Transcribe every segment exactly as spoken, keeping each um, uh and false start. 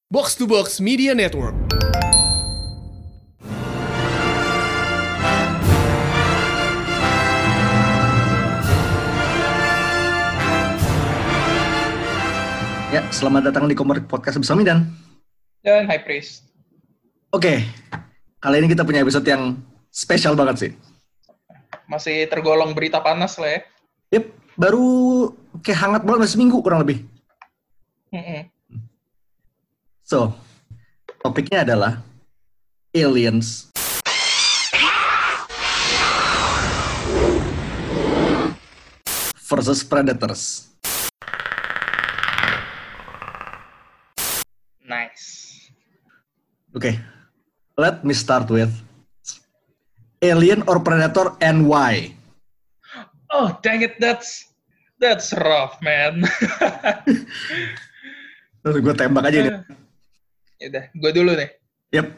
Box to Box Media Network. Ya, selamat datang di Komor Podcast bersama Midan. Dan High Priest. Oke, kali ini kita punya episode yang spesial banget sih. Masih tergolong berita panas lah ya. Yep, baru kayak hangat banget, masih seminggu kurang lebih. Mm-mm. So, topiknya adalah aliens versus predators. Nice. Oke, let me start with alien or predator and why? Oh, dang it, that's that's rough, man. Terus gue tembak aja nih. Yaudah, gue dulu nih. Yep.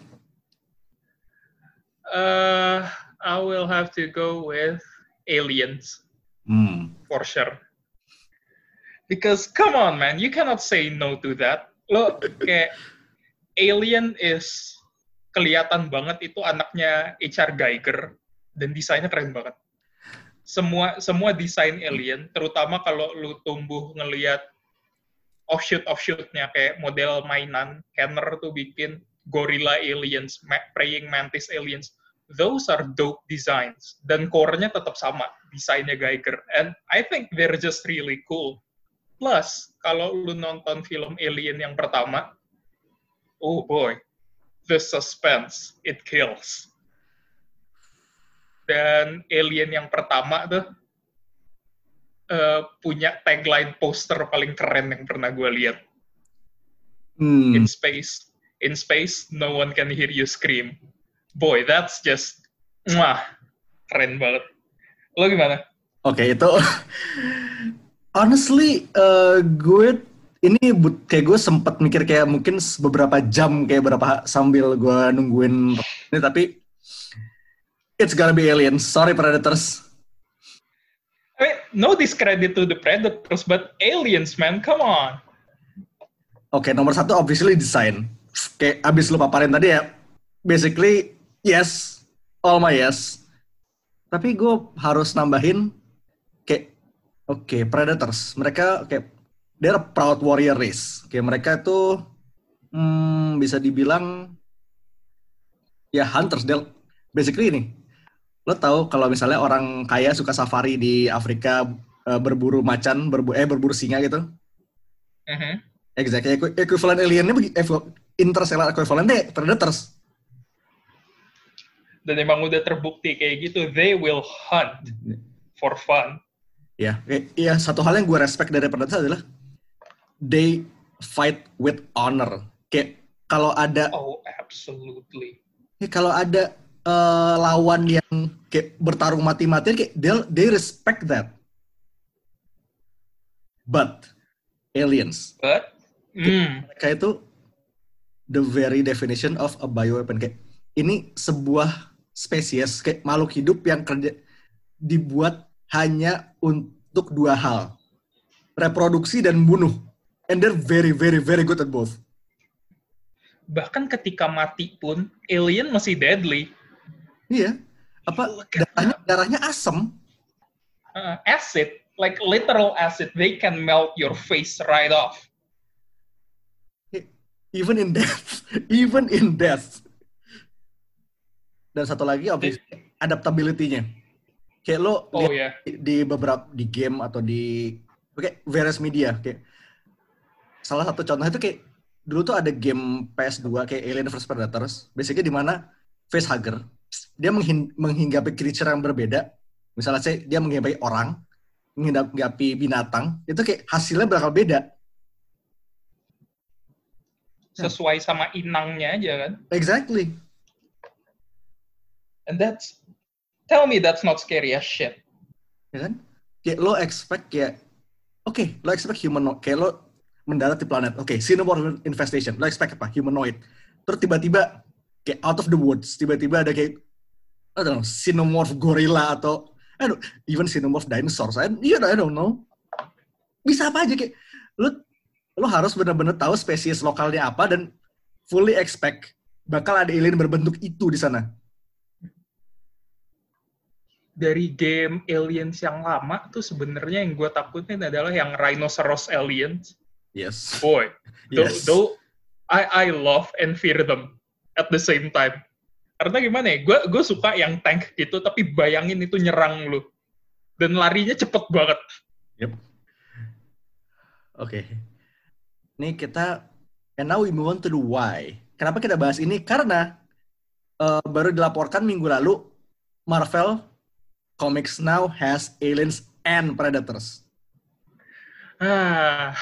Uh, I will have to go with aliens, Hmm. for sure. Because, come on, man, you cannot say no to that. Lo, kayak, alien is kelihatan banget itu anaknya H R Giger, dan desainnya keren banget. Semua semua desain alien, terutama kalau lu tumbuh ngelihat offshoot-offshootnya, kayak model mainan, Kenner tuh bikin gorilla aliens, ma- praying mantis aliens, those are dope designs, dan core-nya tetap sama, desainnya Giger, and I think they're just really cool. Plus, kalau lu nonton film Alien yang pertama, oh boy, the suspense, it kills. Dan Alien yang pertama tuh uh, punya tagline poster paling keren yang pernah gue lihat. Hmm. In space, in space, no one can hear you scream. Boy, that's just, mwah, keren banget. Lo gimana? Oke, okay, itu honestly, uh, gue ini kayak gue sempat mikir kayak mungkin beberapa jam kayak berapa sambil gue nungguin ini, tapi it's gonna be aliens. Sorry predators. I mean, no discredit to the predators, but aliens, man, come on. Oke, okay, nomor satu obviously design. Kayak abis lu paparin tadi ya, basically yes, all my yes. Tapi gue harus nambahin kayak oke, okay, predators. Mereka kayak they're a proud warrior race. Kayak mereka itu hmm, bisa dibilang ya hunters. They're basically ini. Lo tahu kalau misalnya orang kaya suka safari di Afrika, uh, berburu macan, berbu eh berburu singa gitu. Mm-hmm. Exactly. Equivalent aliennya interstellar equivalentnya predators. Dan emang udah terbukti kayak gitu, they will hunt for fun. Ya, iya, satu hal yang gue respect dari predators adalah they fight with honor. Kayak kalau ada Oh, absolutely. Ya, kalau ada uh, lawan yang kayak bertarung mati-matian, kayak they, they respect that. But aliens, But, mm. mereka itu the very definition of a bioweapon. Kayak ini sebuah spesies kayak makhluk hidup yang kerja dibuat hanya untuk dua hal, reproduksi dan bunuh. And they're very very very good at both. Bahkan ketika mati pun, alien masih deadly. Iya. Apa darahnya darahnya asam? Uh, acid, like literal acid, they can melt your face right off. Even in death, even in death. Dan satu lagi obviously adaptability-nya. Kayak lo oh, lihat yeah. di beberapa di game atau di kayak various media, kayak salah satu contoh itu kayak dulu tuh ada game P S two kayak Alien versus Predators, basically di mana facehugger dia menghin- menghinggapi creature yang berbeda. Misalnya saya dia menghinggapi orang, menghinggapi binatang, itu kayak hasilnya bakal beda. Sesuai sama inangnya aja kan. Exactly. And that's, tell me that's not scary as shit. Ya kan? Kayak lo expect kayak, oke, okay, lo expect humanoid, kayak lo mendarat di planet, oke, okay, xenomorph infestation, lo expect apa? Humanoid. Terus tiba-tiba, kayak out of the woods, tiba-tiba ada kayak, I don't know, xenomorph gorilla atau, I don't, even xenomorph dinosaurs, I, you know, I don't know. Bisa apa aja kayak, lo lo harus benar-benar tahu spesies lokalnya apa dan fully expect bakal ada alien berbentuk itu di sana. Dari game Aliens yang lama tuh sebenarnya yang gue takutin adalah yang Rhinoceros Aliens. Yes. Boy, though, Yes. though I I love and fear them at the same time. Karena gimana ya, gue gue suka yang tank gitu, tapi bayangin itu nyerang lu dan larinya cepet banget. Yep. Oke. Okay. Nih kita, and now we move on to the why. Kenapa kita bahas ini? Karena uh, baru dilaporkan minggu lalu Marvel Comics now has aliens and predators. Ah,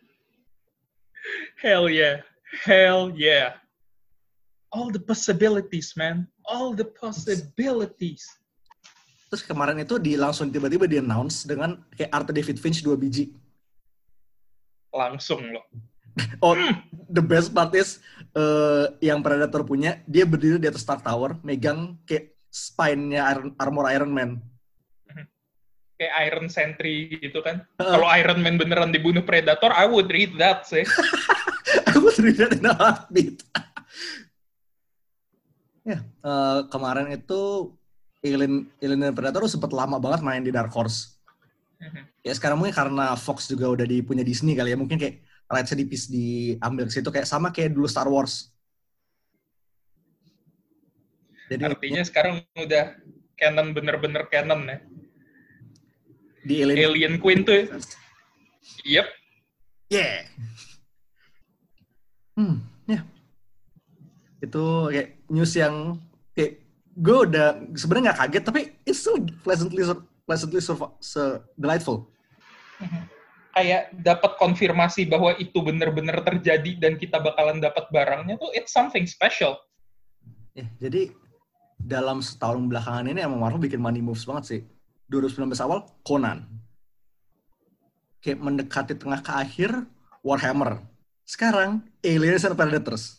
hell yeah, hell yeah. All the possibilities, man. All the possibilities. Terus kemarin itu di langsung tiba-tiba di-announce dengan kayak art David Finch dua biji. Langsung loh. Oh, the best part is uh, yang Predator punya, dia berdiri di atas Stark Tower, megang kayak spine-nya Iron, armor Iron Man. Kayak Iron Sentry gitu kan. Uh. Kalau Iron Man beneran dibunuh Predator, I would read that sih. I would read that in a heartbeat. Ya, yeah, uh, kemarin itu Alien, Alien dan Predator sempat lama banget main di Dark Horse. Uh-huh. Ya sekarang mungkin karena Fox juga udah dipunya Disney kali ya, mungkin kayak rights-nya dipis diambil ke situ kayak sama kayak dulu Star Wars. Jadi artinya ya, sekarang udah canon, bener-bener canon ya. Di Alien, Alien Queen tuh. Yep. Yeah. Hmm, ya. Yeah. Itu kayak news yang kayak gue udah sebenarnya nggak kaget tapi it's still pleasantly pleasantly so delightful. Mm-hmm. Kayak dapat konfirmasi bahwa itu benar-benar terjadi dan kita bakalan dapat barangnya tuh it's something special. Ya, yeah, jadi dalam setahun belakangan ini emang Marvel bikin money moves banget sih. dua ribu sembilan belas awal Conan. Kayak mendekati tengah ke akhir Warhammer. Sekarang Aliens and Predators.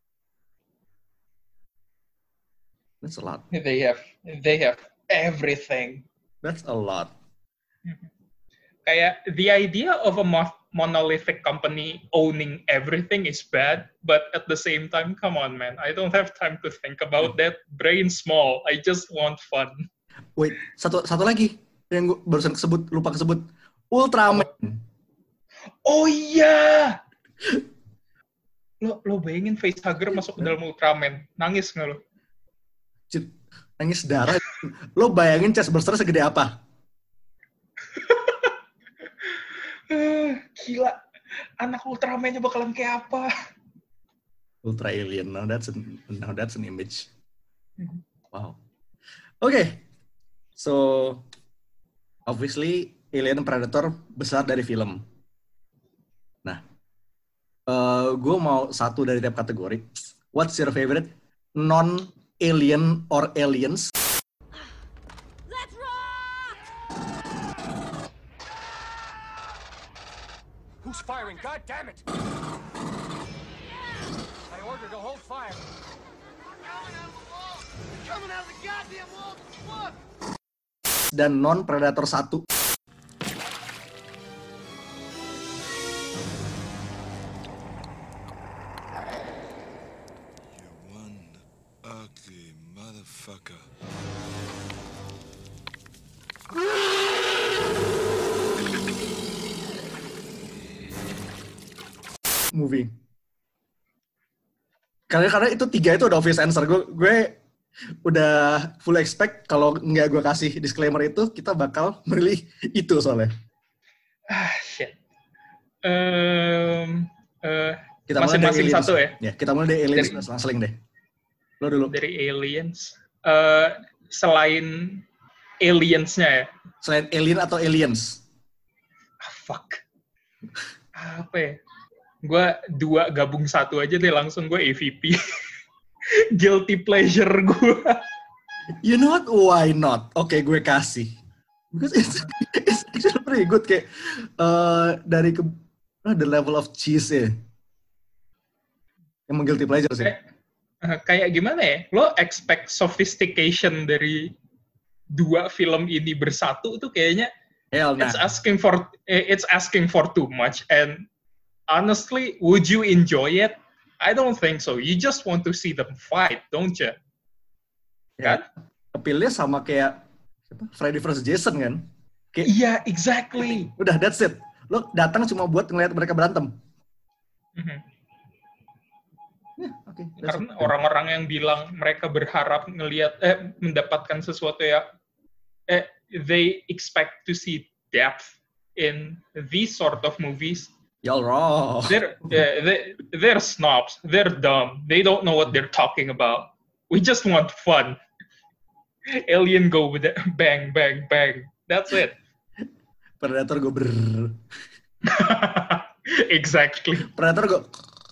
That's a lot. They have they have everything. That's a lot. Kayak the idea of a monolithic company owning everything is bad, but at the same time, come on, man, I don't have time to think about that. Brain small. I just want fun. Wait, satu satu lagi yang gue barusan kesebut, lupa kesebut, Ultraman. Oh iya. Lo lo bayangin facehugger masuk ke dalam Ultraman, nangis nggak lo? Nangis darah. Lo bayangin chestburster segede apa? Gila, anak Ultraman-nya bakalan kayak apa? Ultra Alien, now that's an, now that's an image. Wow. Oke, okay. So obviously Alien Predator besar dari film. Nah, uh, gue mau satu dari tiap kategori. What's your favorite non-alien or aliens? Who's firing? God damn it! I ordered to hold fire. Coming out of the wall! Coming out of the goddamn wall! Look! Dan non-Predator satu. You one ugly motherfucker. Movie. Karena karena itu tiga itu udah obvious answer. Gue gue udah full expect kalau nggak gue kasih disclaimer itu kita bakal milih itu soalnya. Ah shit. Um, uh, kita masing-masing satu ya. Ya kita mulai dari aliens langsung deh. Lo dulu. Dari aliens. Uh, selain aliensnya ya. Selain alien atau aliens? Ah, fuck. Apa ya? Gue dua gabung satu aja deh, langsung gue A V P. Guilty pleasure gue. You know what? Why not? Oke, okay, gue kasih. Because it's, it's actually pretty good. Kayak uh, dari ke, uh, the level of cheese ya. Emang guilty pleasure sih. Kayak, uh, kayak gimana ya? Lo expect sophistication dari dua film ini bersatu tuh kayaknya Hell, nah. it's asking for it's asking for too much, and honestly, would you enjoy it? I don't think so. You just want to see them fight, don't you? Ya, Kan? appeal-nya sama kayak siapa? Freddy versus Jason kan? Kayak Iya, exactly. udah that's it. Lo datang cuma buat ngeliat mereka berantem. Mhm. Ya, oke. that's Karena it. orang-orang yang bilang mereka berharap ngelihat eh mendapatkan sesuatu ya eh they expect to see depth in these sort of movies. Y'all wrong. They're eh, they, they're snobs. They're dumb. They don't know what they're talking about. We just want fun. Alien go with it. Bang, bang, bang. That's it. Predator gue ber. Exactly. Predator gue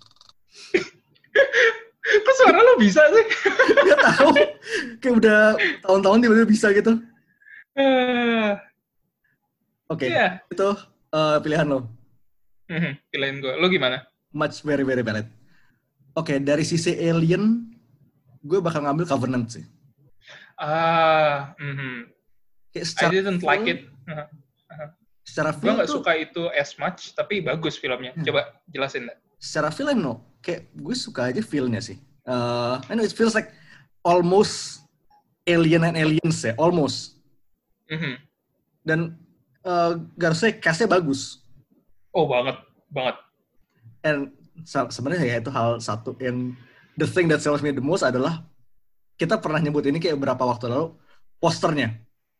Kok suara lo bisa sih? nggak tahu. Kayak udah tahun-tahun tiba-tiba bisa gitu. Eh, Oke, Iya. itu eh, pilihan lo. mhm, Pilihan gue. Lo gimana? Much very very valid. Oke, dari sisi alien, gue bakal ngambil Covenant sih. Ah, mhm. Kayak I secara didn't like feel- it. Uh-huh. Secara Gue feel nggak tuh, suka itu as much, tapi bagus filmnya. Hmm. Coba jelasin deh. secara feel I know, kayak gue suka aja feel-nya sih. Uh, I know it feels like almost alien and aliens ya, almost. Mhm. Dan uh, gak usah cast-nya bagus. Oh banget, banget. And se- sebenarnya ya itu hal satu yang the thing that sells me the most adalah kita pernah nyebut ini kayak beberapa waktu lalu posternya.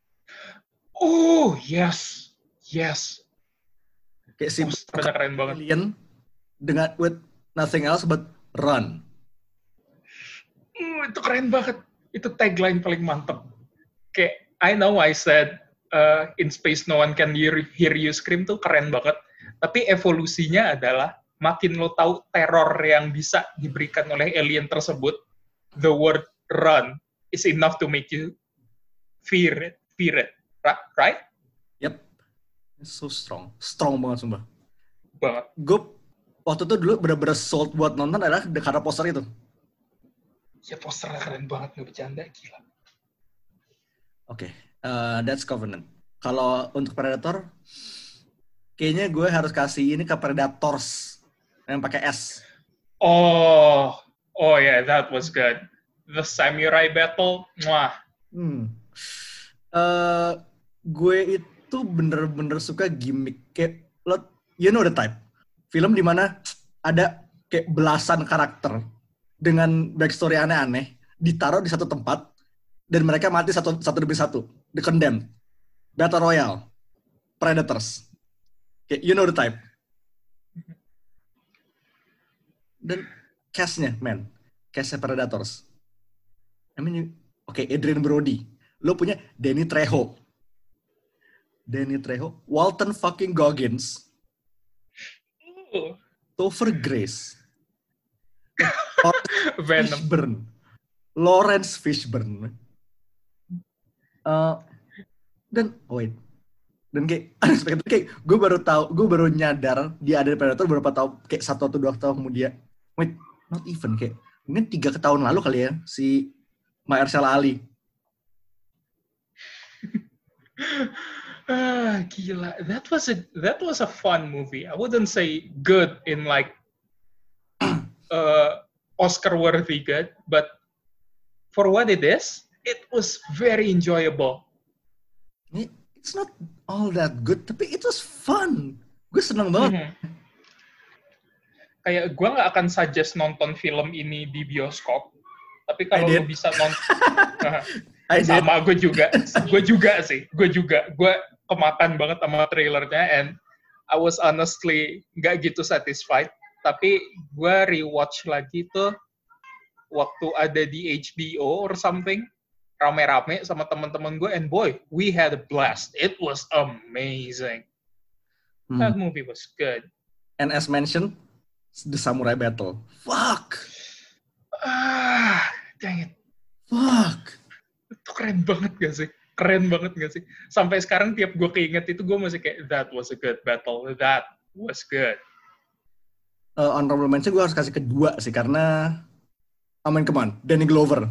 Oh yes, yes. Kayak si Posternya keren banget. alien dengan with nothing else but run. Hmm, itu keren banget. Itu tagline paling mantep. Kayak I know I said uh, in space no one can hear, hear you scream tuh keren banget. Tapi evolusinya adalah makin lo tahu teror yang bisa diberikan oleh alien tersebut, the word run is enough to make you fear it, fear it, Ra- right? Yep. It's so strong. Strong banget sumpah. Banget. Gue waktu itu dulu bener-bener sold buat nonton adalah karena poster itu. Ya posternya keren banget, nggak bercanda, gila. Oke, okay. uh, that's Covenant. Kalau untuk Predator, kayaknya gue harus kasih ini ke Predators yang pakai S. Oh, oh yeah, that was good. The samurai battle, wah. Hmm. Uh, gue itu bener-bener suka gimmick kayak lo, you know the type. Film dimana ada kayak belasan karakter dengan backstory aneh-aneh ditaruh di satu tempat dan mereka mati satu satu demi satu. The Condemned, Battle Royale, Predators. Kayak you know the type. Dan cast-nya, man. Cast-nya Predators. I mean, you- oke, okay, Adrian Brody. Lo punya Danny Trejo. Danny Trejo. Walton fucking Goggins. Uh, Topher Grace. Venom. Fishburne. Lawrence Fishburne. Uh, dan, oh wait. Dan kayak, unexpected, kayak gue baru tahu, gue baru nyadar dia ada di Predator beberapa tahun, kayak satu atau dua tahun kemudian. Wait, not even, kayak mungkin tiga tahun lalu kali ya, si Mahershala Ali. Ah, gila. That was a that was a fun movie. I wouldn't say good in like uh, Oscar worthy good, but for what it is, it was very enjoyable. It's not all that good, tapi it was fun. Gue seneng banget. Mhm. Kayak gue nggak akan suggest nonton film ini di bioskop, tapi kalau I lo did. bisa nonton, I did. sama gue juga, gue juga sih, gue juga, gue kemakan banget sama trailernya, and I was honestly nggak gitu satisfied. Tapi gue rewatch lagi tuh waktu ada di H B O or something, rame-rame sama teman-teman gue, and boy, we had a blast. It was amazing. That Hmm. movie was good. And as mentioned, the Samurai Battle. Fuck. Ah, dang it. Fuck. Itu keren banget gak sih? Keren banget gak sih? Sampai sekarang tiap gue keinget itu gue masih kayak, that was a good battle. That was good. Uh, honorable mention gue harus kasih kedua sih, karena I mean, come on, Danny Glover.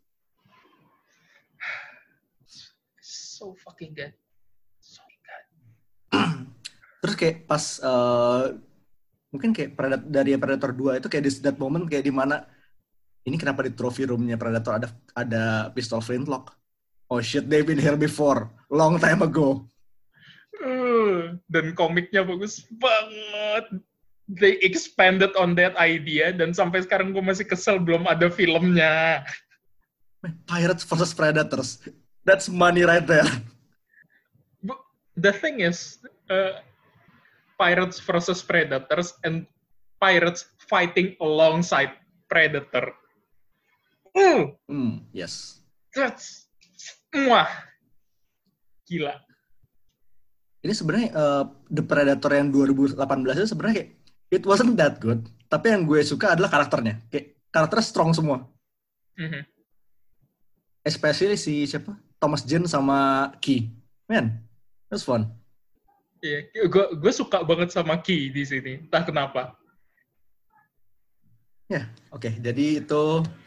So fucking good. So good. Terus kayak pas uh, mungkin kayak Predator, dari Predator dua itu kayak di that moment kayak di mana ini kenapa di trophy roomnya Predator ada ada pistol flintlock. Oh shit, they've been here before, long time ago. Uh, dan komiknya bagus banget. They expanded on that idea dan sampai sekarang gue masih kesel belum ada filmnya. Pirates versus Predators. That's money right there. But the thing is, uh, Pirates versus Predators and Pirates fighting alongside Predator. Uh, Hmm, yes. that's wah, gila. Ini sebenarnya uh, The Predator yang dua ribu delapan belas itu sebenarnya kayak it wasn't that good. Tapi yang gue suka adalah karakternya. Kayak karakternya strong semua. Mm-hmm. Especially si siapa? Thomas Jane sama Key. Man, it was fun. Iya, yeah, gue gue suka banget sama Key di sini. Entah kenapa. Ya, yeah, oke. Okay. Jadi itu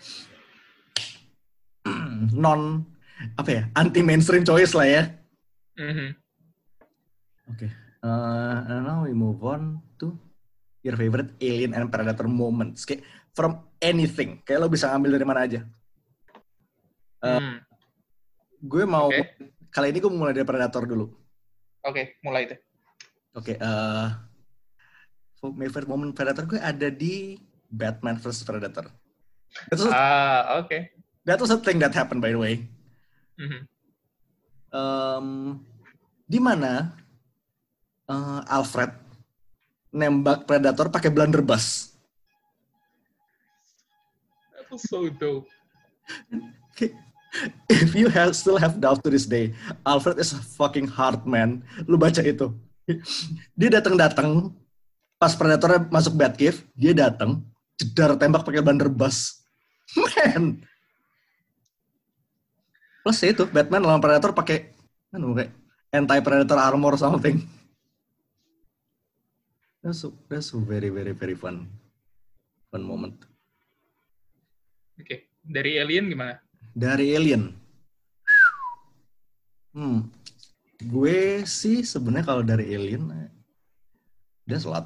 non apa ya? Anti mainstream choice lah ya. Mm-hmm. Oke. Okay. Uh, and now we move on to your favorite Alien and Predator moments. Kayak from anything. Kayak lo bisa ngambil dari mana aja. Uh, hmm. Gue mau okay. Kali ini gue mulai dari Predator dulu. Oke, okay, mulai deh. Oke, okay, uh, my favorite moment Predator gue ada di Batman versus Predator. That was, ah, oke. Okay. That was a thing that happened, by the way. Mm-hmm. Um, di mana uh, Alfred nembak Predator pakai blunderbuss. That was so dope. If you have, still have doubt to this day, Alfred is a fucking hard man. Lu baca itu. Dia datang-datang pas Predator masuk Batcave, dia datang, jedar tembak pakai blunderbuss. Man. Plus itu Batman lawan Predator pakai anu kayak anti-predator armor something. That's so, that's so very very very fun. Fun moment. Oke, okay. Dari Alien gimana? Dari Alien. Hmm. Gue sih sebenarnya kalau dari Alien dia slot.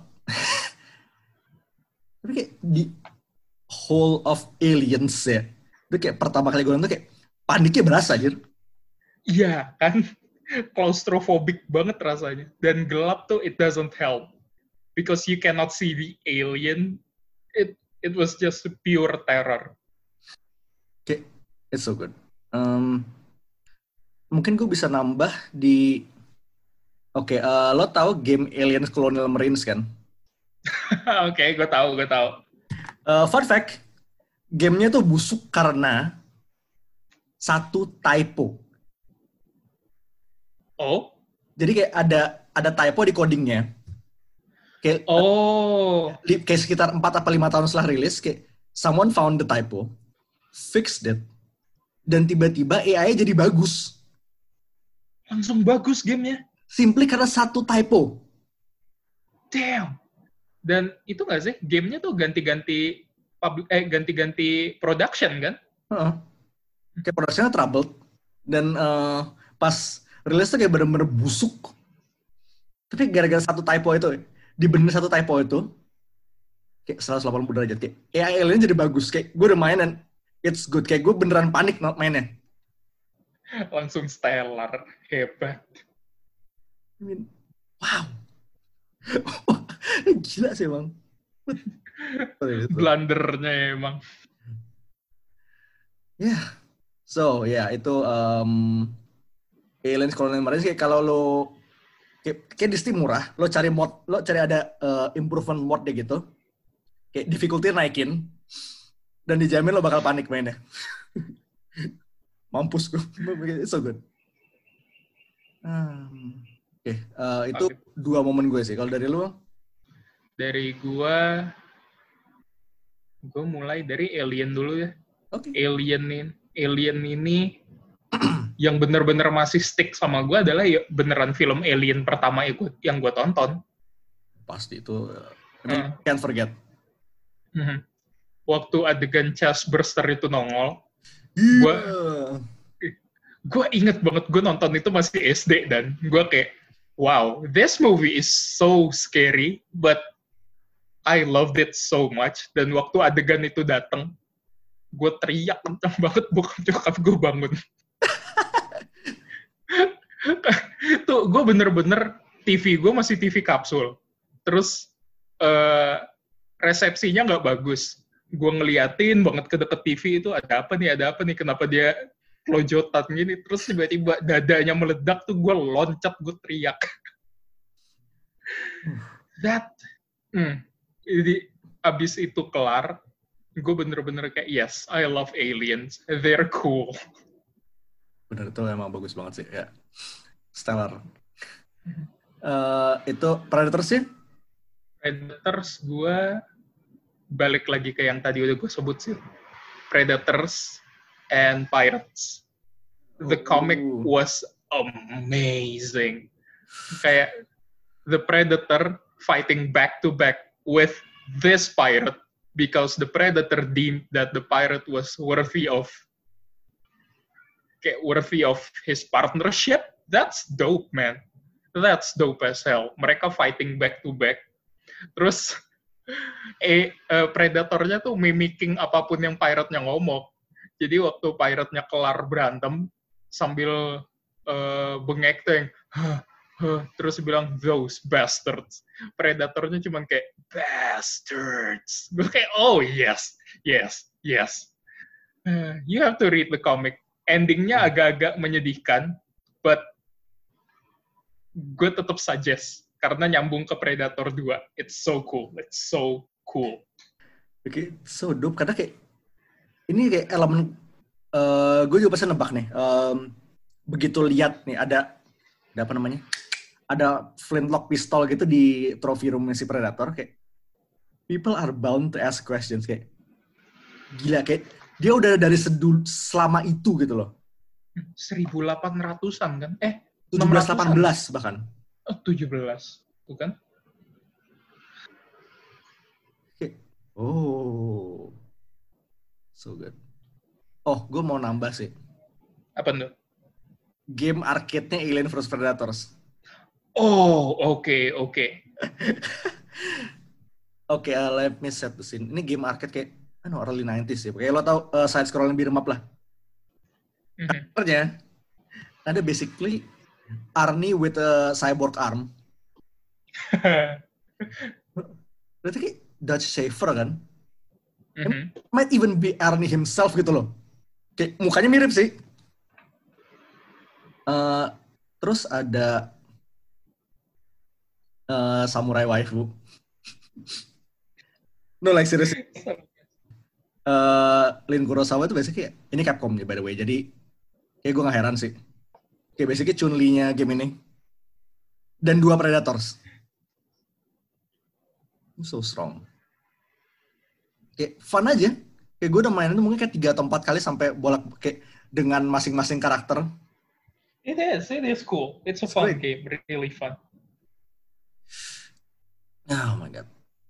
Tapi kayak di whole of Aliens ya. Itu kayak pertama kali gue nonton kayak paniknya berasa aja. Iya, kan? Claustrophobic banget rasanya. Dan gelap tuh it doesn't help. Because you cannot see the alien. It it was just pure terror. Kayak it's so good. Um, mungkin gue bisa nambah di Oke, okay, uh, lo tahu game Aliens Colonial Marines kan? Oke, okay, gue tahu, gue tahu. Uh, fun fact, gamenya tuh busuk karena satu typo. Oh? Jadi kayak ada ada typo di codingnya. Kayak, oh. Uh, kayak sekitar empat atau lima tahun setelah rilis, kayak someone found the typo, fixed it, dan tiba-tiba A I-nya jadi bagus. Langsung bagus gamenya? Simply karena satu typo. Damn. Dan itu nggak sih, gamenya tuh ganti-ganti public, eh ganti-ganti production kan? Uh-uh. Kayak productionnya troubled. Dan uh, pas rilis tuh kayak bener-bener busuk. Tapi gara-gara satu typo itu, dibenerin satu typo itu, kayak seratus delapan puluh derajat. Kayak A I Alien jadi bagus. Kayak gue udah main dan it's good. Kayak gue beneran panik mainnya. Langsung stellar. Hebat. I mean, wow. Gila sih emang. Blundernya emang. Ya. Yeah. So, ya yeah, itu um, Aliens Colonial Marines kayak kalau lo kayak, kayak di Steam murah, lo cari mod, lo cari ada uh, improvement mod deh gitu. Kayak difficulty naikin dan dijamin lo bakal panik mainnya. Mampus gue. It's so good. Um, Oke, okay. uh, itu okay. Dua momen gue sih. Kalau dari lu? Dari gue, gue mulai dari Alien dulu ya. Oke. Okay. Alien ini, Alien ini yang bener-bener masih stick sama gue adalah ya beneran film Alien pertama ikut yang gue tonton. Pasti itu. I mean, uh. Can't forget. Uh-huh. Waktu adegan chest burster itu nongol, yeah. gue gue inget banget gue nonton itu masih S D dan gue kayak wow, this movie is so scary, but I loved it so much. Dan waktu adegan itu datang, gue teriak kencang banget, bokap nyokap gue bangun. Tuh, gue bener-bener T V gue masih T V kapsul. Terus uh, resepsinya nggak bagus. Gue ngeliatin banget ke deket T V itu, ada apa nih, ada apa nih, kenapa dia lojotan gini. Terus tiba-tiba dadanya meledak tuh, gue loncat, gue teriak. That, hmm, jadi abis itu kelar, gue bener-bener kayak, yes, I love aliens, they're cool. Bener, itu emang bagus banget sih, ya. Stellar. Uh, itu Predator sih? Predators gue balik lagi ke yang tadi udah gue sebut sih. Predators and Pirates. The comic was amazing. Kayak the Predator fighting back to back with this pirate because the Predator deemed that the pirate was worthy of kayak worthy of his partnership. That's dope, man. That's dope as hell. Mereka fighting back to back. Terus eh uh, predatornya tuh mimicking apapun yang pirate-nya ngomong. Jadi waktu pirate-nya kelar berantem sambil uh, bengek tuh yang huh, huh, terus bilang those bastards. Predatornya cuman kayak bastards. Gue kayak oh yes, yes, yes. Uh, you have to read the comic. Endingnya agak-agak menyedihkan, but gue tetap suggest karena nyambung ke Predator dua. It's so cool. It's so cool. Oke, okay, so dope. Karena kayak ini kayak elemen uh, gue juga pasti nebak nih. Um, begitu lihat nih ada ada apa namanya? Ada flintlock pistol gitu di trophy room si Predator, kayak people are bound to ask questions, kayak gila, kayak dia udah dari sedul selama itu gitu loh. seribu delapan ratusan kan? Eh, tujuh belas delapan belas bahkan. Oh, tujuh belas. Bukan? Okay. Oh. So good. Oh, gue mau nambah sih. Apa tuh? Game arcade-nya Alien versus. Predators. Oh, oke, okay, oke. Okay. Oke, okay, uh, let me set the scene. Ini game arcade kayak, ano, early nineties ya. Kayak lo tau uh, side-scrolling beat'em up lah. Mm-hmm. Karakternya, ada basically Arnie with a cyborg arm. Berarti kayak Dutch Shaver kan? Mm-hmm. Might even be Arnie himself gitu loh. Kayak mukanya mirip sih. Uh, terus ada uh, Samurai Waifu. No, like seriously. Uh, Lin Kurosawa itu basically kayak, ini Capcom nih by the way, jadi kayak gue gak heran sih. Kayak basically Chun-Li-nya game ini. Dan dua Predators. So strong. Kayak fun aja. Kayak gue udah main itu mungkin kayak tiga atau empat kali sampai bolak kayak dengan masing-masing karakter. It is, it is cool. It's a It's fun great. game, really fun. Oh my god.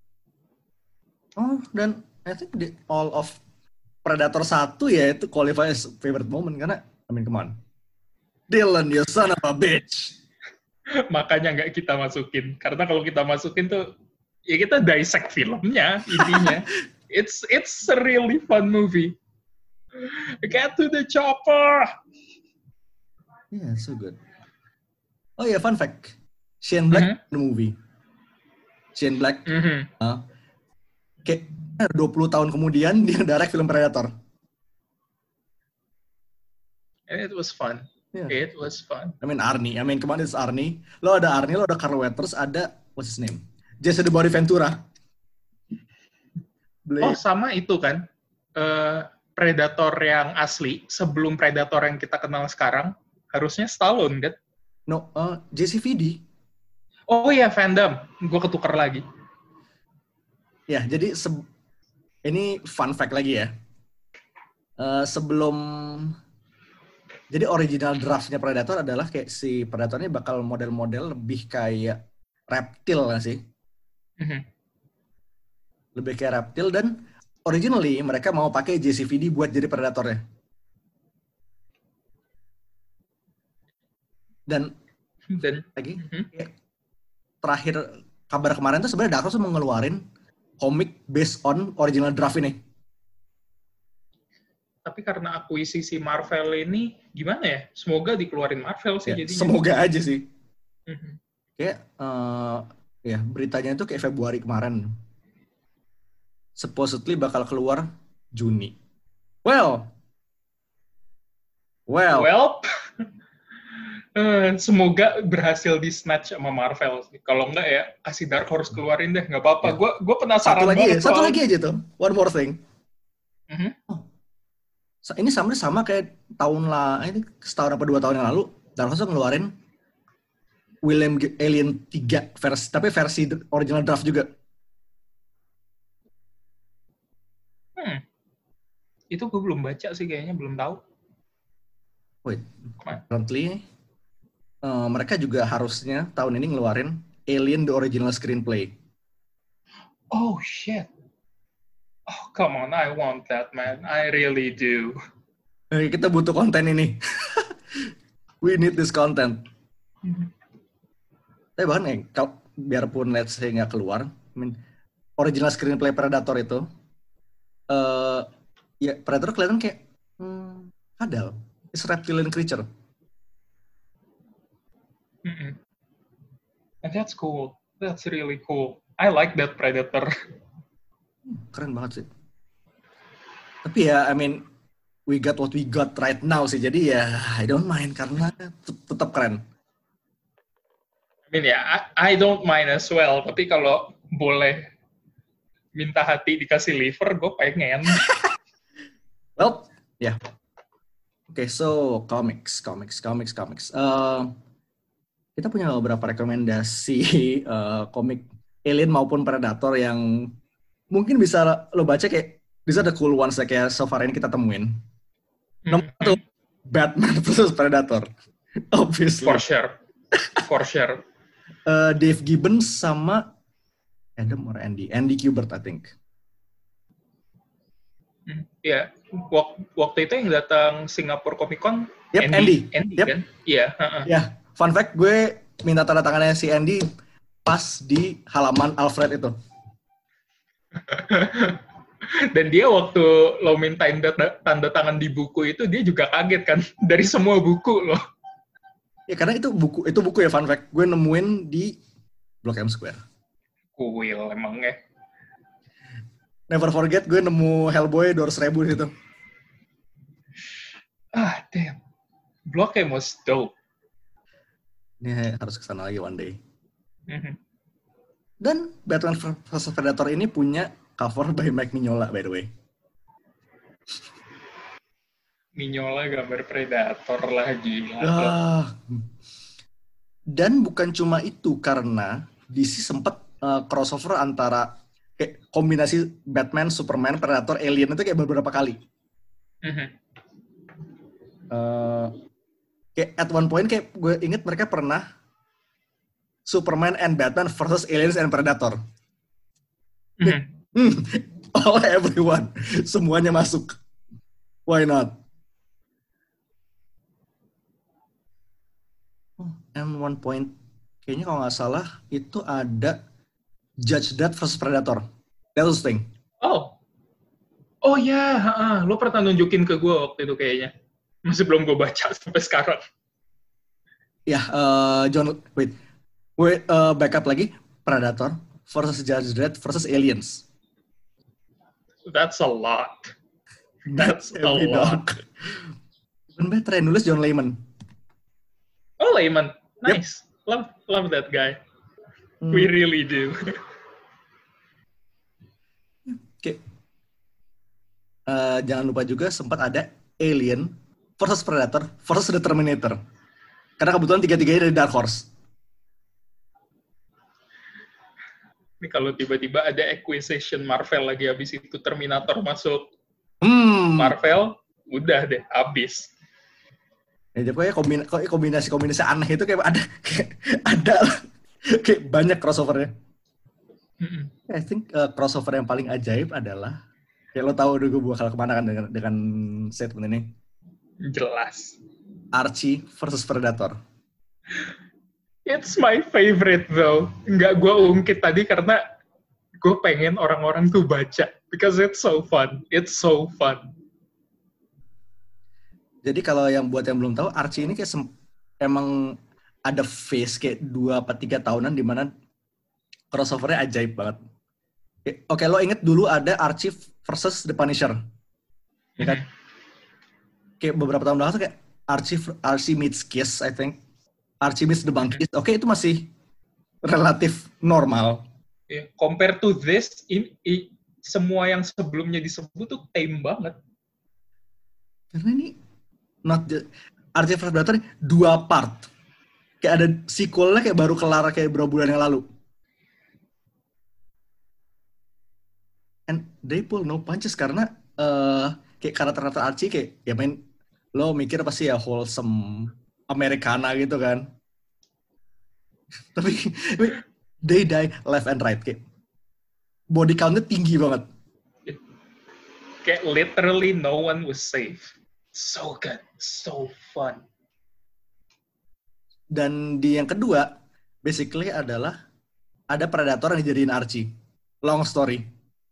Oh, dan I think the all of Predator satu ya itu qualify as favorite moment karena I mean come on. Dylan, you son of a bitch. Makanya nggak kita masukin. Karena kalau kita masukin tuh, ya kita dissect filmnya, intinya. it's it's a really fun movie. Get to the chopper! Yeah, so good. Oh yeah, fun fact. Shane Black Mm-hmm. the movie. Shane Black. Mm-hmm. Uh, kayak dua puluh tahun kemudian dia direct film Predator. And it was fun. Yeah. It was fun. I mean Arnie. I mean kemana it's Arnie. Lo ada Arnie, lo ada Carl Weathers, ada what's his name? Jesse the Body Ventura. Oh, sama itu kan. Uh, Predator yang asli, sebelum Predator yang kita kenal sekarang, harusnya Stallone kan? No, uh, J C V D. Oh iya, Van gue ketukar lagi. Ya, jadi se- ini fun fact lagi ya. Uh, sebelum jadi original draftnya Predator adalah kayak si Predator ini bakal model-model lebih kayak reptil kan sih? Mm-hmm. Lebih kayak reptil dan originally mereka mau pakai J C V D buat jadi Predatornya. Dan Dan lagi mm-hmm. kayak terakhir kabar kemarin tuh sebenarnya Dark Horse mau ngeluarin komik based on original draft ini. Tapi karena akuisisi Marvel ini gimana ya? Semoga dikeluarin Marvel sih Ya, jadinya. semoga aja sih. Mhm. Kayak uh, ya beritanya itu kayak Februari kemarin. Supposedly bakal keluar Juni. Well, well, Well, eh, semoga berhasil di snatch sama Marvel sih. Kalau enggak ya kasih Dark Horse keluarin deh, nggak apa-apa. Ya. Gue gue penasaran satu lagi ya, banget satu soal- lagi aja tuh. One more thing. Mhm. Sa- Ini sama sama kayak tahun lah, ini setahun apa dua tahun yang lalu, Dark Horse ngeluarin William G- Alien tiga versi, tapi versi d- original draft juga. Hmm. Itu gue belum baca sih kayaknya, belum tahu. Wait, Mana? currently uh, mereka juga harusnya tahun ini ngeluarin Alien the original screenplay. Oh shit. Oh come on, I want that man. I really do. Eh, kita butuh konten ini. We need this content. Tapi bahkan eh, kalau biarpun let's say nggak keluar, I mean, original screenplay Predator itu, eh ya Predator kelihatan kayak hmm, kadal, it's reptilian creature. Mm-mm. And that's cool. That's really cool. I like that Predator. Keren banget sih. Tapi ya, I mean, we got what we got right now sih. Jadi ya, I don't mind karena tet- tetap keren. I mean ya, I, I don't mind as well. Tapi kalau boleh minta hati dikasih liver, gue pengen. Well, ya. Yeah. Oke, okay, so comics, comics, comics, comics. Uh, kita punya beberapa rekomendasi uh, komik Alien maupun Predator yang mungkin bisa lo baca kayak bisa the cool ones kayak so far ini kita temuin. Nomor satu, Batman versus Predator. Obviously. For sure. For sure. Uh, Dave Gibbons sama Adam or Andy? Andy Kubert, I think. Hmm, ya, wak- waktu itu yang datang Singapore Comic Con, Yep, Andy. Andy Yep. kan? Iya. uh-uh. Ya, fun fact, gue minta tanda tangannya si Andy pas di halaman Alfred itu. Dan dia waktu lo mintain tanda, tanda tangan di buku itu, dia juga kaget kan dari semua buku lo. Ya karena itu buku itu buku ya, fun fact. Gue nemuin di Blok M Square. Kuil emangnya. Never forget gue nemu Hellboy dua ratus ribu di situ. Ah, damn. Blok M was dope. Ini harus kesana lagi one day. Mhm. Dan Batman versus Predator ini punya cover by Mike Mignola, by the way. Mignola gambar Predator lagi. Ah. Dan bukan cuma itu, karena D C sempat uh, crossover antara kayak kombinasi Batman, Superman, Predator, Alien itu kayak beberapa kali. Mhm. Uh, kayak at one point kayak gue inget mereka pernah Superman and Batman versus Aliens and Predator. Mhm. Hmm, all everyone, semuanya masuk. Why not? Oh, and one point, kayaknya kalau nggak salah itu ada Judge Dredd versus Predator. That was the thing. Oh. Oh ya, heeh. Lo pernah nunjukin ke gue waktu itu kayaknya. Masih belum gue baca sampai sekarang. Ya, uh, John, wait, wait, uh, backup lagi. Predator versus Judge Dredd versus Aliens. That's a lot. That's a Heavy lot. dog. Even better, yang nulis John Layman. Oh, Layman. Nice. Love love that guy. Hmm. We really do. Oke. Uh, jangan lupa juga sempat ada Alien versus Predator versus The Terminator. Karena kebetulan tiga-tiganya dari Dark Horse. Ini kalau tiba-tiba ada acquisition Marvel lagi habis itu Terminator masuk Hmm. Marvel, udah deh, habis. Ya, jadi kayak kombina- kayak kombinasi-kombinasi aneh itu kayak ada kayak ada kayak banyak crossovernya. Mm-mm. I think uh, crossover yang paling ajaib adalah kayak lo tahu dulu gue bakal kemana kan dengan, dengan statement ini. Jelas. Archie versus Predator. It's my favorite though. Nggak gue ungkit tadi karena gue pengen orang-orang tuh baca because it's so fun, it's so fun. Jadi kalau yang buat yang belum tahu, Archie ini kayak sem- emang ada phase kayak dua atau tiga tahunan di mana crossover-nya ajaib banget. Oke, okay, lo inget dulu ada Archie versus The Punisher. Ya kan? Kayak beberapa tahun lalu tuh kayak Archie, Archie meets Kiss, I think. Archie meets The Monkeys. Oke, okay, itu masih relatif normal. Yeah, compare to this, in, in, semua yang sebelumnya disebut tuh tame banget. Karena ini not just, Archie versus Predator dua part. Kayak ada sequelnya kayak baru kelar kayak beberapa bulan yang lalu. And they pull no punches karena uh, kayak karakter-karakter Archie kayak ya main lo mikir pasti ya wholesome Americana gitu kan. Tapi they die left and right kayak body count-nya tinggi banget. Kayak literally no one was safe. So good, so fun. Dan di yang kedua, basically adalah ada Predator yang dijadiin Archie. Long story.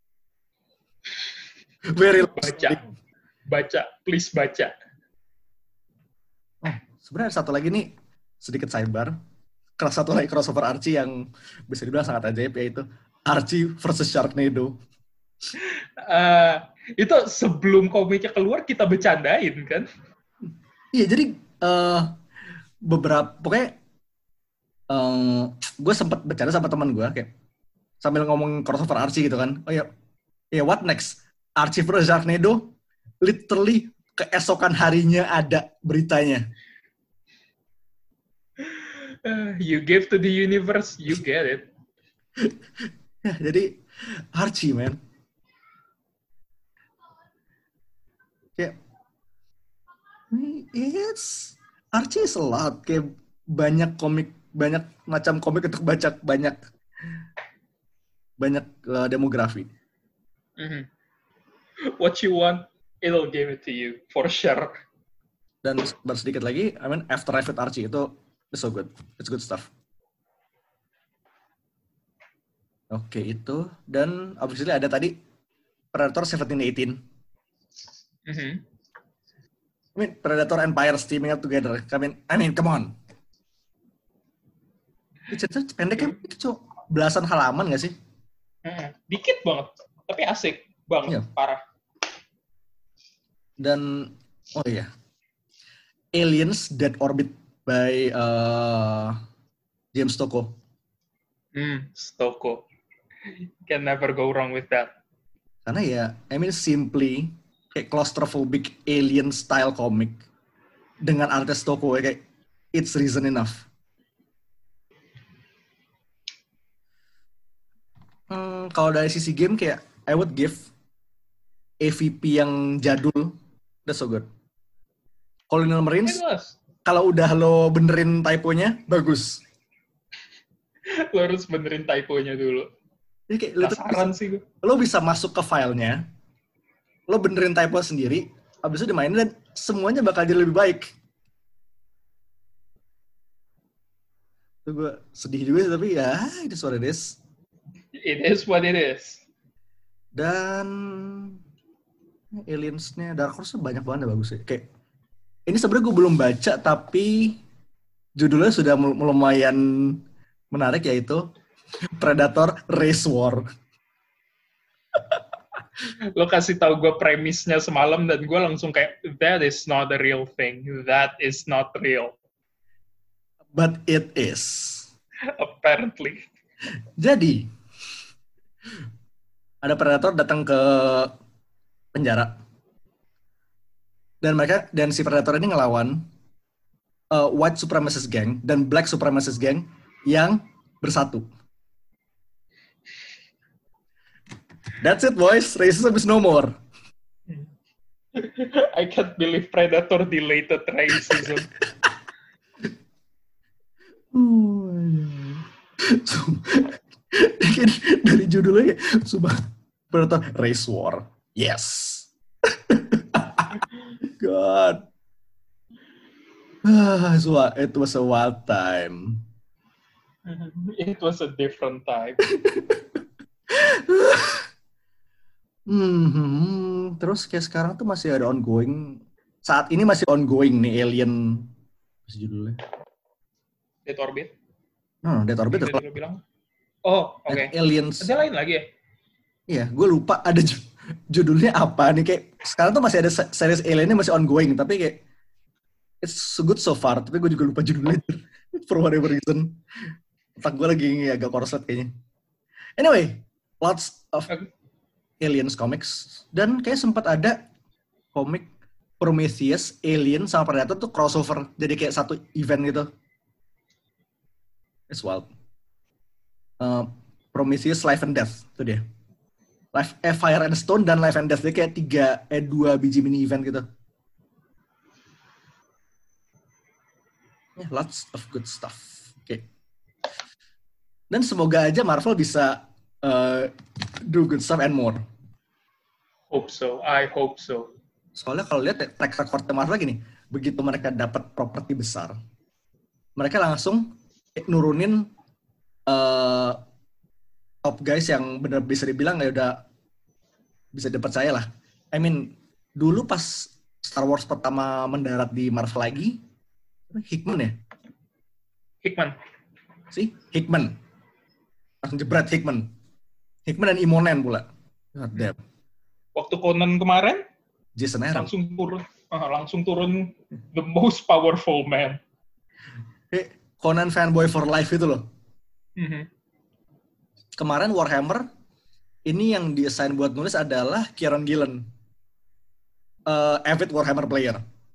Very long baca, story. baca, please baca. Oh, sebenarnya satu lagi nih sedikit sidebar. Satu lagi crossover Archie yang bisa dibilang sangat ajaib, yaitu Archie versus Sharknado. Uh, itu sebelum komiknya keluar kita bercandain kan? Iya, jadi uh, beberapa pokoknya um, gue sempat bercanda sama teman gue kayak sambil ngomong crossover Archie gitu kan. Oh ya, ya what next? Archie versus Sharknado, literally keesokan harinya ada beritanya. Uh, you give to the universe, you get it. Ya, jadi Archie, man. Kayak, it's Archie is a lot. Kayak banyak komik, banyak macam komik untuk baca, banyak banyak uh, demografi. Mm-hmm. What you want, it'll give it to you, for sure. Dan baru sedikit lagi, I mean, Afterlife with Archie itu it's so good. It's good stuff. Oke, itu. Dan obviously ada tadi Predator seventeen eighteen. Mm-hmm. I mean, Predator Empire teaming up together. I mean, I mean, come on. Cerita pendeknya itu belasan halaman nggak sih? Mm-hmm. Dikit banget, tapi asik banget, Iya. Parah. Dan, oh iya. Aliens Dead Orbit by uh, James Tocco. Hmm, Stoko. Can never go wrong with that. Karena ya, I mean simply kayak claustrophobic alien style comic dengan artis Tocco ya, kayak it's reason enough. Hmm, kalau dari sisi game kayak I would give A V P yang jadul, that's so good. Colonial Marines, kalau udah lo benerin typonya, bagus. Lo harus benerin typonya dulu. Jadi kayak, lo, Penasaran bisa, sih gue. lo bisa masuk ke filenya, lo benerin typo sendiri, abis itu dimainin dan semuanya bakal jadi lebih baik. Itu gue sedih juga sih, tapi ya, it is what it is. It is what it is. Dan aliens-nya Dark Horse banyak banget yang bagus ya. Kayak ini sebenarnya gue belum baca tapi judulnya sudah lumayan menarik, yaitu Predator Race War. Lo kasih tahu gue premisnya semalam dan gue langsung kayak that is not the real thing. That is not real. But it is. Apparently. Jadi ada Predator datang ke penjara. Dan mereka dan si Predator ini ngelawan uh, white supremacist gang dan black supremacist gang yang bersatu. That's it, boys. Racism is no more. I can't believe Predator deleted racism. Oh, dari judulnya sumpah Predator Race War. Yes. God. Ah, it was a wild time. It was a different time. Hmm, terus kayak sekarang tuh masih ada ongoing. Saat ini masih ongoing nih Alien. Apa sih judulnya? Dead Orbit. No, no, Dead Orbit. Yang tadi lo bilang. Oh, oke. Okay. Aliens. Ada lain lagi ya? Iya, gue lupa ada ju- judulnya apa nih. Kayak sekarang tuh masih ada series Aliennya masih ongoing. Tapi kayak it's so good so far. Tapi gue juga lupa judulnya. For whatever reason. Otak gue lagi agak korslet kayaknya. Anyway, lots of Okay. Aliens comics. Dan kayak sempat ada komik Prometheus, Alien, sama Predator tuh crossover. Jadi kayak satu event gitu. It's wild. Uh, Prometheus, Life and Death. Itu dia. Life, eh, Fire and Stone dan Life and Death. Dia kayak tiga, eh dua biji mini event gitu. Yeah, lots of good stuff. Oke. Okay. Dan semoga aja Marvel bisa uh, do good stuff and more. Hope so. I hope so. Soalnya kalau lihat track record Marvel lagi nih, begitu mereka dapat properti besar, mereka langsung nurunin uh, top guys yang benar bisa dibilang ya udah bisa dipercaya lah. I mean, dulu pas Star Wars pertama mendarat di Marvel lagi, Hickman ya? Hickman. Si Hickman. Langsung jebret Hickman. Hickman dan Imonen pula. God damn. Waktu Conan kemarin, Jason Aaron. langsung turun, uh, langsung turun the most powerful man. Hey, Conan fanboy for life itu loh. Mm-hmm. Kemarin Warhammer, ini yang di-assign buat nulis adalah Kieron Gillen. Uh, avid Warhammer player.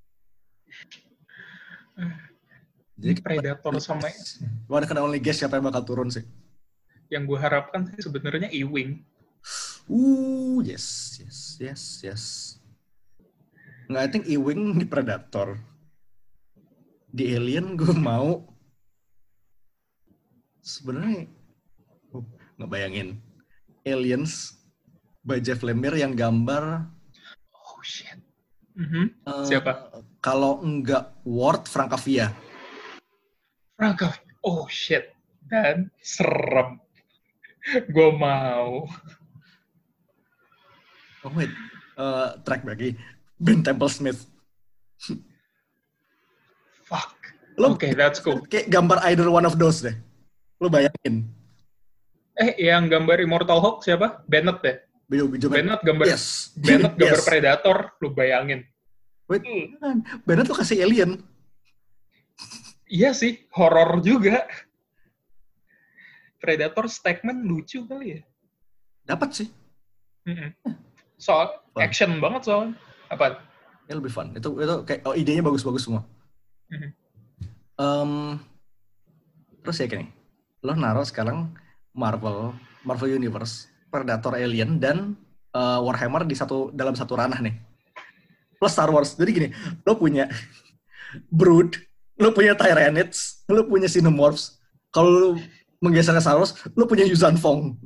Jadi Predator sama One can only guess siapa yang bakal turun sih. yang gue harapkan sih sebenarnya Ewing. Uh, yes, yes, yes, yes. Nggak, I think Ewing di Predator. Di Alien gue mau sebenarnya oh, nggak bayangin Aliens by Jeff Lemire yang gambar. Oh shit. Mm-hmm. Uh, Siapa? Kalau enggak Ward, Francavilla. Francavilla. Oh shit. Dan serem. Gue mau. Oh wait, uh, track lagi. Ben Temple Smith. Fuck. Lo, Oke, okay, that's cool. Kayak gambar either one of those deh. Lo bayangin. Eh, yang gambar Immortal Hulk siapa? Bennett deh. Bijo, bijo, Bennett gambar. yes. Bennett gambar yes. Predator. Lu bayangin. Wait, Hmm. Bennett lo kasih alien. Iya sih, horor juga. Predator Stackman lucu kali ya. Dapat sih. Mm-mm. Soal Fun. action banget soalnya. Apa? Ya lebih fun. Itu itu kayak oh, idenya bagus-bagus semua. Mm-hmm. Um, terus ya gini, lo naruh sekarang Marvel, Marvel Universe, Predator, Alien dan uh, Warhammer di satu dalam satu ranah nih. Plus Star Wars. Jadi gini, lo punya Brood, lo punya Tyranids, lo punya Xenomorphs. Kalau lo menggeser ke Star Wars, lo punya Yuuzhan Vong.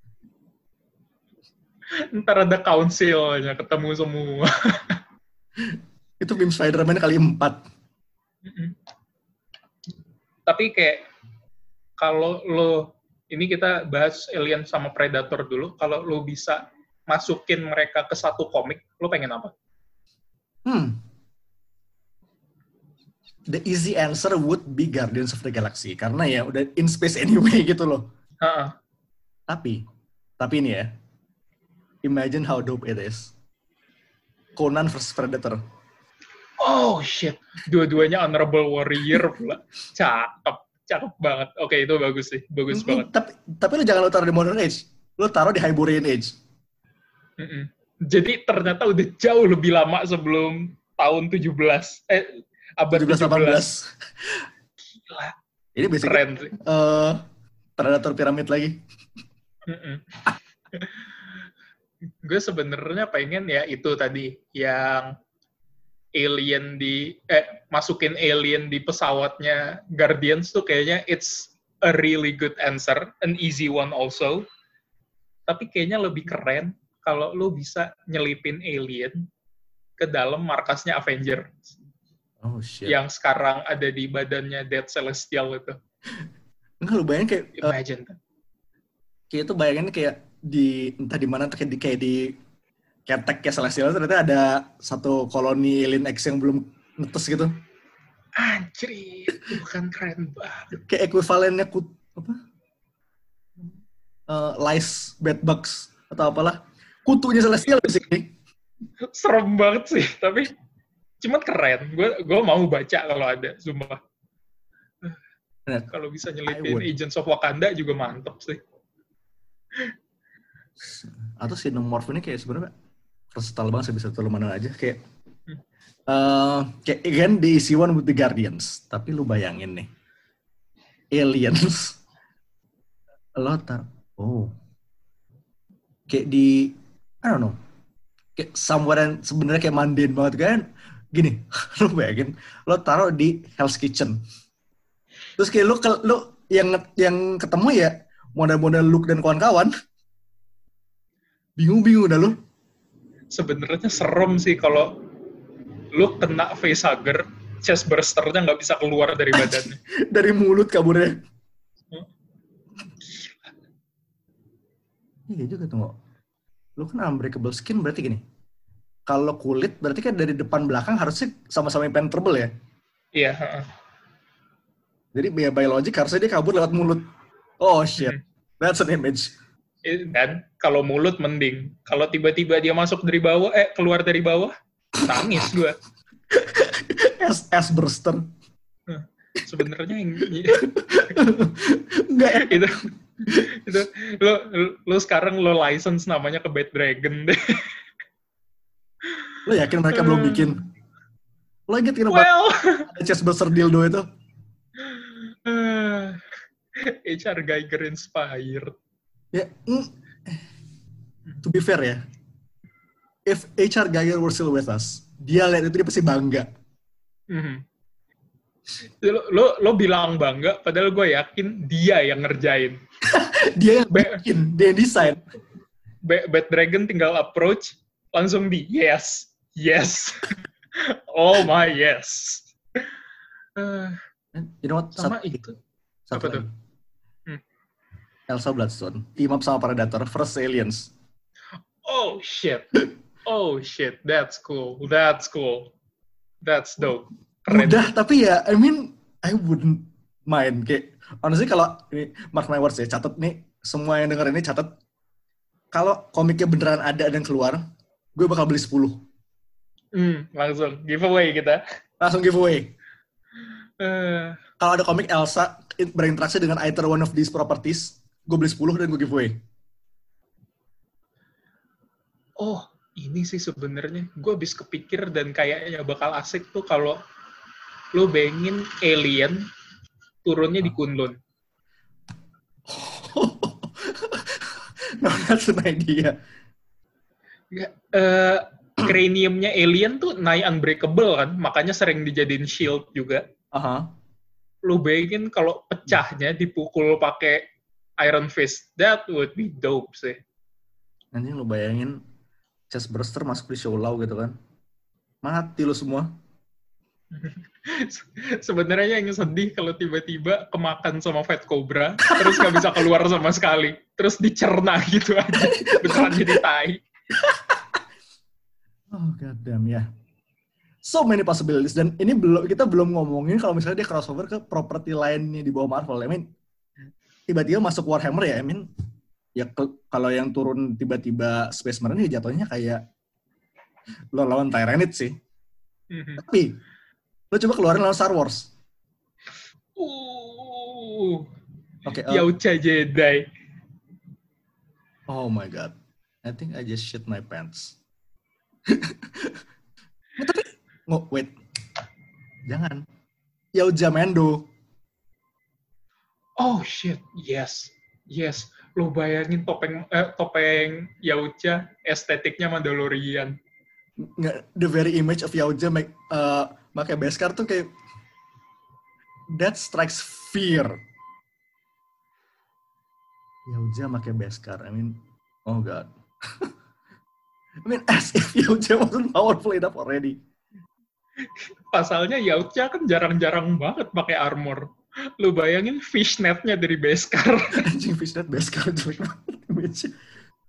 Ntar ada council-nya ketemu semua. Itu Beam Spider-Man kali empat. Mm-mm. Tapi kayak kalau lo ini kita bahas Alien sama Predator dulu. Kalau lo bisa masukin mereka ke satu komik, lo pengen apa? Hmm. The easy answer would be Guardians of the Galaxy karena ya udah in space anyway gitu loh. Uh-uh. Tapi, tapi ini ya, imagine how dope it is. Conan versus Predator. Oh shit, dua-duanya honorable warrior pula. Cakep, cakep banget. Oke, itu bagus sih, bagus Mm, banget. Tapi, tapi lu jangan lu taruh di Modern Age, lu taruh di Hyborian Age. Mm-mm. Jadi ternyata udah jauh lebih lama sebelum tahun tujuh belas. Eh, abad tujuh belas delapan belas. Gila, Ini basically keren sih. uh, Predator piramid lagi. Gue sebenarnya pengen ya itu tadi yang alien di eh masukin alien di pesawatnya Guardians tuh kayaknya it's a really good answer, an easy one also. Tapi kayaknya lebih keren kalau lo bisa nyelipin alien ke dalam markasnya Avenger. Oh shit. Yang sekarang ada di badannya Dead Celestial itu. Enggak, lu bayangin kayak uh, Imagine. kayak itu bayangin kayak di entah di mana tuh kayak di kayak di ketek kayak Celestial ternyata ada satu koloni alien X yang belum netes gitu. Anjir, itu kan keren banget. Kayak ekuivalennya kut apa? Uh, lice, bedbugs atau apalah. Kutunya Celestial di sini. Serem banget sih, tapi cuman keren. Gue gue mau baca kalau ada, sumpah. Nah, Kalau bisa I nyelipin would. Agents of Wakanda juga mantep sih. Atau Xenomorph ini kayak sebenarnya versatile banget sih, bisa terlalu mana aja kayak Hmm. uh, kayak again di issue one with the Guardians, tapi lu bayangin nih aliens lo tar oh kayak di I don't know kayak somewhere yang sebenarnya kayak mundane banget kan gini. Lu bayangin lo taruh di Hell's Kitchen terus kayak lu ke- lu yang yang ketemu ya model-model Luke dan kawan-kawan, bingung-bingung dah lu. Sebenarnya serem sih kalau lu kena facehugger, chest bursternya nggak bisa keluar dari badannya. Dari mulut kaburnya. Iya juga tuh, Ngo. Lu kan unbreakable skin berarti gini. Kalau kulit berarti kan dari depan belakang harusnya sama-sama impenetrable ya. Iya. heeh. Jadi ya by logic harusnya dia kabur lewat mulut. Oh shit. Hmm. That's an image. Eh, Dan kalau mulut mending. Kalau tiba-tiba dia masuk dari bawah, eh keluar dari bawah, nangis gua. S S burster. Sebenarnya yang Enggak ya. itu itu lo lo sekarang lo license namanya ke Bad Dragon deh. Lo yakin mereka belum bikin? Lo inget kan Well, ada chest burster dildo itu? H R Geiger inspired. Ya, mm, to be fair ya, if H R Geiger were still with us, dia lihat itu dia pasti bangga. Mhm. Lo, lo lo bilang bangga, padahal gue yakin dia yang ngerjain. Dia yang Be- bikin, dia yang desain. Ba- Bad Dragon tinggal approach, langsung di yes, yes, oh my yes. Eh, You know what? sama Satu- itu. Satu Apa tuh? lagi. Hmm. Elsa Bloodstone, team up sama Predator, first aliens. Oh shit, oh shit, that's cool, that's cool, that's dope. Keren. Mudah, tapi ya, I mean, I wouldn't mind. Kayak, honestly kalau, ini, mark my words ya, catat nih, semua yang denger ini catat, kalau komiknya beneran ada dan keluar, gue bakal beli sepuluh. Hmm, langsung giveaway kita. Langsung giveaway. Eh, Kalau ada komik Elsa berinteraksi dengan either one of these properties, gue beli sepuluh dan gue giveaway. oh, ini sih sebenarnya gue habis kepikir dan kayaknya bakal asik tuh kalau lo bayangin alien turunnya di Kunlun. No, that's an idea. Ya, eh, craniumnya alien tuh nigh unbreakable kan, makanya sering dijadiin shield juga. Aha. Lo bayangin kalau pecahnya dipukul pakai Iron Fist, that would be dope sih. Nanti lu bayangin chest burster masuk di show law gitu kan. Mati lu semua. Sebenarnya yang sedih kalau tiba-tiba kemakan sama Fat Cobra, terus nggak bisa keluar sama sekali, terus dicerna gitu aja, beneran jadi tai. Oh god damn ya. So many possibilities dan ini belum kita belum ngomongin kalau misalnya dia crossover ke properti lainnya di bawah Marvel. I mean tiba-tiba masuk Warhammer ya. I mean ya ke- kalau yang turun tiba-tiba Space Marine ya jatuhnya kayak lo lawan Tyrannid sih. Mhm. Tapi lo coba keluarin lawan Star Wars. Uh, Oke. uh, Yaucha Jedi. oh my god. I think I just shit my pants. Nah, tapi nggak wait. Jangan. Yauja Mendo. Oh shit, yes, yes. Lo bayangin topeng eh, topeng Yaucha, estetiknya Mandalorian. Nggak, the very image of Yauja make uh, pakai Beskar tuh kayak that strikes fear. Yauja pakai Beskar, I mean, oh god. I mean, as if Yauja wasn't powerful enough already. Pasalnya Yaucha kan jarang-jarang banget pakai armor. Lo bayangin fishnetnya dari Beskar. Anjing fishnet Beskar jelek banget image.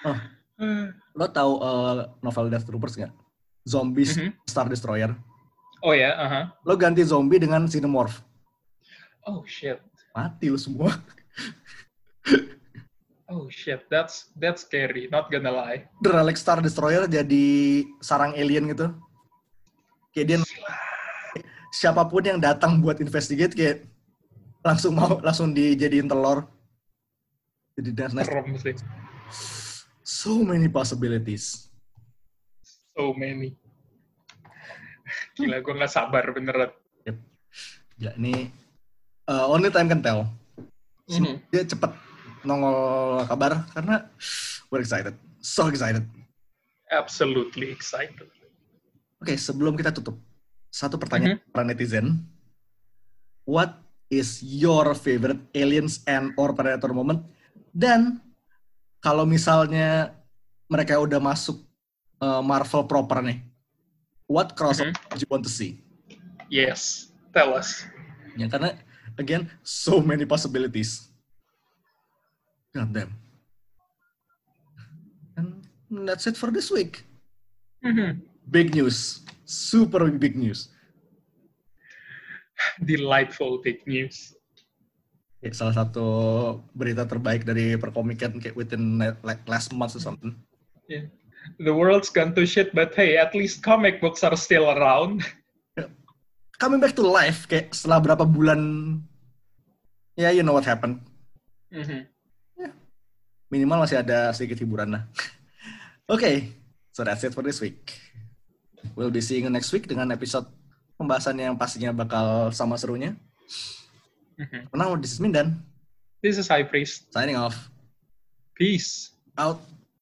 Oh, lo tahu uh, novel Death Troopers nggak? Zombies Mhm. Star Destroyer. Oh ya, aha. Lo ganti zombie dengan Xenomorph. Oh shit. Mati lo semua. Oh shit, that's that's scary, not gonna lie. The Relic Star Destroyer jadi sarang alien gitu. Kayak dia siapapun yang datang buat investigate kayak langsung mau langsung dijadiin telur. Jadi that's nice. Serem sih. So many possibilities. So many. Gila, gue nggak sabar beneran. Yep. Ya ini uh, only time can tell. Mhm. Dia cepet nongol kabar karena we're excited, so excited. Absolutely excited. Oke, sebelum kita tutup, satu pertanyaan para netizen. What is your favorite aliens and or predator moment? Dan kalau misalnya mereka udah masuk uh, Marvel proper nih, what crossover Mhm. do you want to see? Yes, tell us. Ya karena again, so many possibilities. God damn. And that's it for this week. Mhm. Big news. Super big news. Delightful big news. Ya, salah satu berita terbaik dari perkomikan kayak within like last month or something. Yeah. The world's gone to shit, but hey, at least comic books are still around. Coming back to life kayak setelah berapa bulan, ya yeah, you know what happened. Mhm. Minimal masih ada sedikit hiburan lah. Oke, okay, so that's it for this week. We'll be seeing you next week dengan episode pembahasan yang pastinya bakal sama serunya. Mhm. For now, this is Mindan. This is High Priest. Signing off. Peace. Out.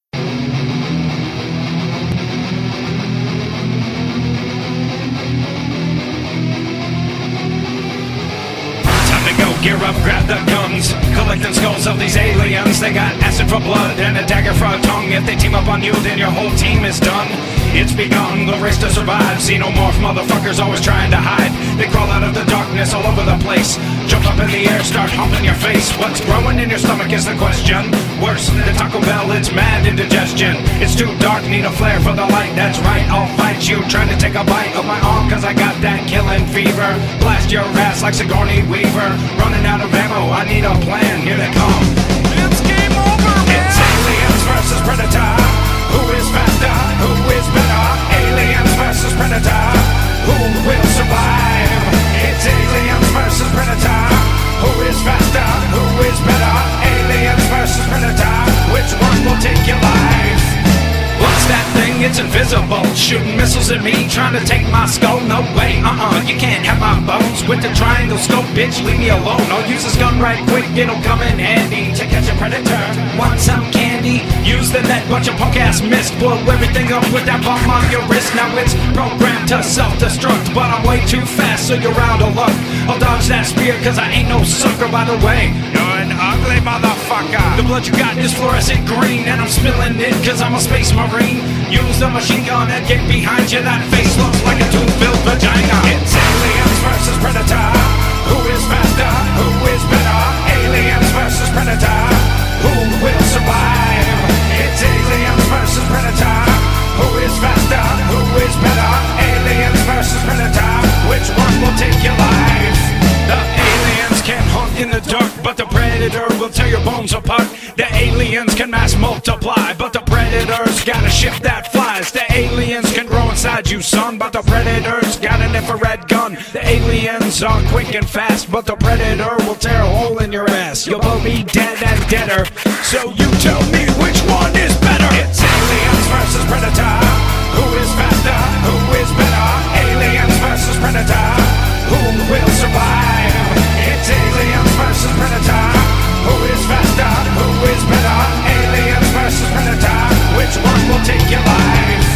Gear up, grab the guns, collecting skulls of these aliens. They got acid for blood and a dagger for a tongue. If they team up on you, then your whole team is done. It's begun, the race to survive. Xenomorph motherfuckers always trying to hide. They crawl out of the darkness all over the place. Jump up in the air, start humping your face. What's growing in your stomach is the question. Worse than Taco Bell, it's mad indigestion. It's too dark, need a flare for the light. That's right, I'll fight you. Trying to take a bite of my arm, cause I got that killing fever. Blast your ass like Sigourney Weaver. Running out of ammo, I need a plan. Here they come. It's game over, man. It's aliens versus Predator. Who is faster? Who is better? Aliens versus Predator. Who will survive? It's aliens versus Predator. Who is faster? Who is better? Aliens versus Predator. Which one will take your life? What's that thing? It's invisible. Shooting missiles at me, trying to take my skull. No way, uh-uh, you can't have my bones. With the triangle scope, bitch, leave me alone. I'll use this gun right quick, it'll come in handy to catch a predator. Want some candy? Use the net, bunch of punk ass mist. Blow everything up with that bomb on your wrist. Now it's programmed to self-destruct, but I'm way too fast, so you're out of luck. I'll dodge that spear, cause I ain't no sucker, by the way. You're an ugly motherfucker. The blood you got is fluorescent green, and I'm spilling it, cause I'm a space marine. Use the machine gun and get behind you. That face looks like a tube-filled vagina. It's aliens versus Predator. Who is faster? Who is better? Aliens versus Predator. Who will survive? It's aliens versus Predator. Who is faster? Who is better? Aliens versus Predator. Which one will take your life? The aliens can hunt in the dark, but the predator will tear your bones apart. The aliens can mass multiply, but the predator's got a ship that flies. The aliens can grow inside you, son, but the predator's got an infrared gun. The aliens are quick and fast, but the predator will tear a hole in your ass. You'll both be dead and deader, so you tell me which one is better. It's aliens versus predator. Who is faster? Who is better? Aliens versus predator. Who will survive? It's aliens versus predator. Who is faster? Who is better? Aliens versus predator. Which one will take your life?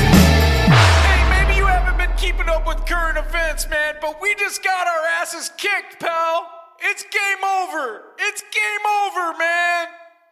Hey, maybe you haven't been keeping up with current events, man, but we just got our asses kicked, pal. It's game over. It's game over, man.